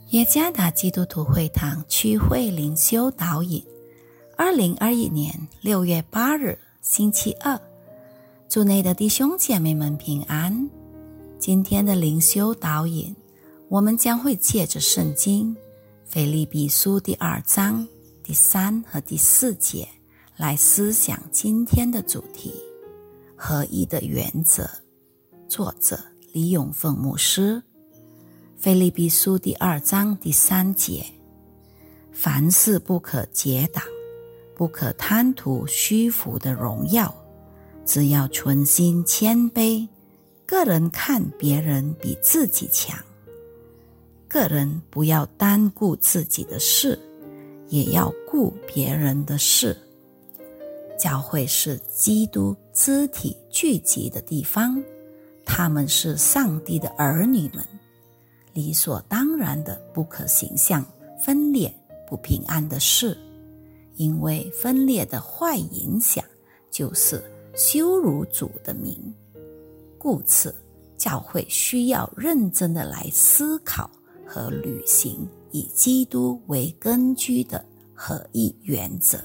耶加达基督徒会堂区会灵修导引2021年6月8日星期二，主内的弟兄姐妹们平安。今天的灵修导引，我们将会借着圣经腓立比书第2章第3和第4节来思想今天的主题：合一的原则。作者李永凤牧师。腓立比书第2章第3节，凡事不可结党，不可贪图虚浮的荣耀，只要存心谦卑，个人看别人比自己强，个人不要单顾自己的事，也要顾别人的事。教会是基督肢体聚集的地方，他们是上帝的儿女们，理所当然的不可行向分裂不平安的事，因为分裂的坏影响就是羞辱主的名。故此，教会需要认真的来思考和履行以基督为根据的合一原则。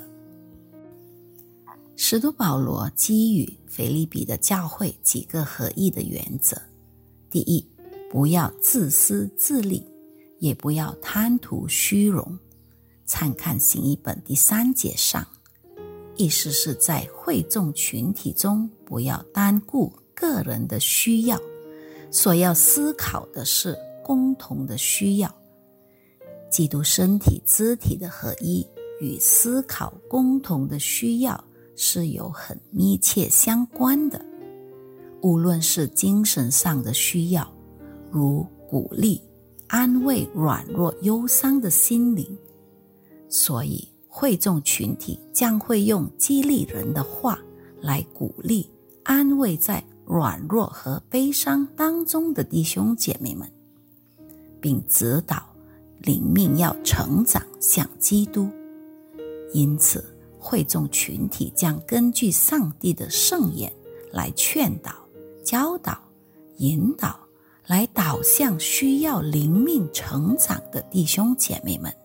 使徒保罗基于腓立比的教会几个合一的原则。第一，不要自私自利，也不要贪图虚荣。参看新译本第3节上，意思是在会众群体中不要单顾个人的需要，所要思考的是共同的需要。基督身体肢体的合一与思考共同的需要是有很密切相关的，无论是精神上的需要，如鼓励、安慰软弱忧伤的心灵，所以会众群体将会用激励人的话来鼓励、安慰在软弱和悲伤当中的弟兄姐妹们，并指导灵命要成长向基督。因此，会众群体将根据上帝的圣言来劝导、教导、引导，来导向需要灵命成长的弟兄姐妹们。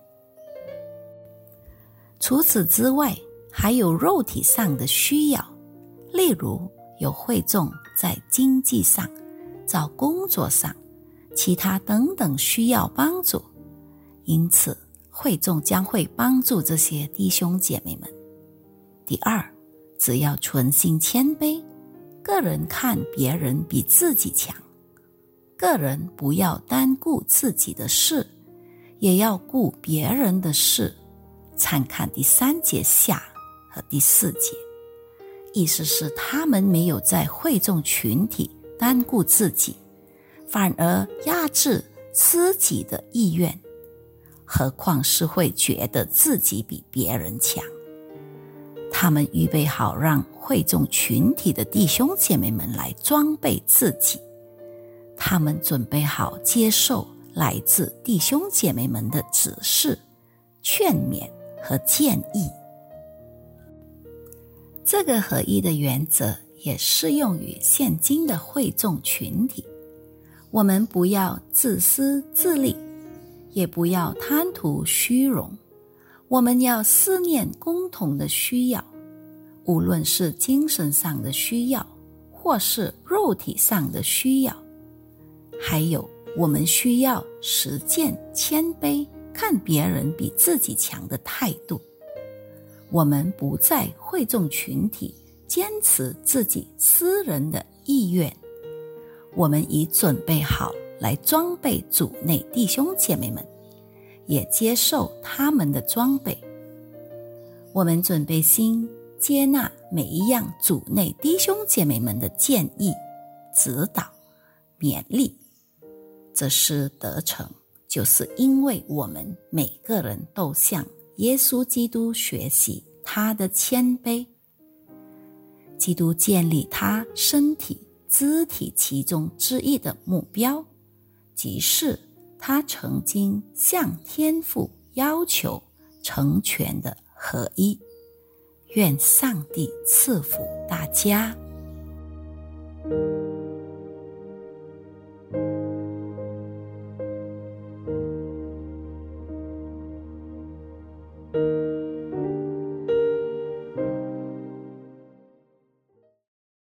除此之外，还有肉体上的需要，例如有会众在经济上、找工作上、其他等等需要帮助，因此会众将会帮助这些弟兄姐妹们。第二，只要存心谦卑，个人看别人比自己强，个人不要单顾自己的事，也要顾别人的事。参看第3节下和第4节，意思是他们没有在会众群体单顾自己，反而压制自己的意愿，何况是会觉得自己比别人强。他们预备好让会众群体的弟兄姐妹们来装备自己，他们准备好接受来自弟兄姐妹们的指示、劝勉和建议。这个合一的原则也适用于现今的会众群体。我们不要自私自利，也不要贪图虚荣，我们要思念共同的需要，无论是精神上的需要，或是肉体上的需要。还有，我们需要实践谦卑，看别人比自己强的态度。我们不在会众群体坚持自己私人的意愿，我们已准备好来装备主内弟兄姐妹们，也接受他们的装备。我们准备心接纳每一样主内弟兄姐妹们的建议、指导、勉励。这是得成，就是因为我们每个人都向耶稣基督学习他的谦卑。基督建立他身体肢体其中之一的目标，即是他曾经向天父要求成全的合一。愿上帝赐福大家。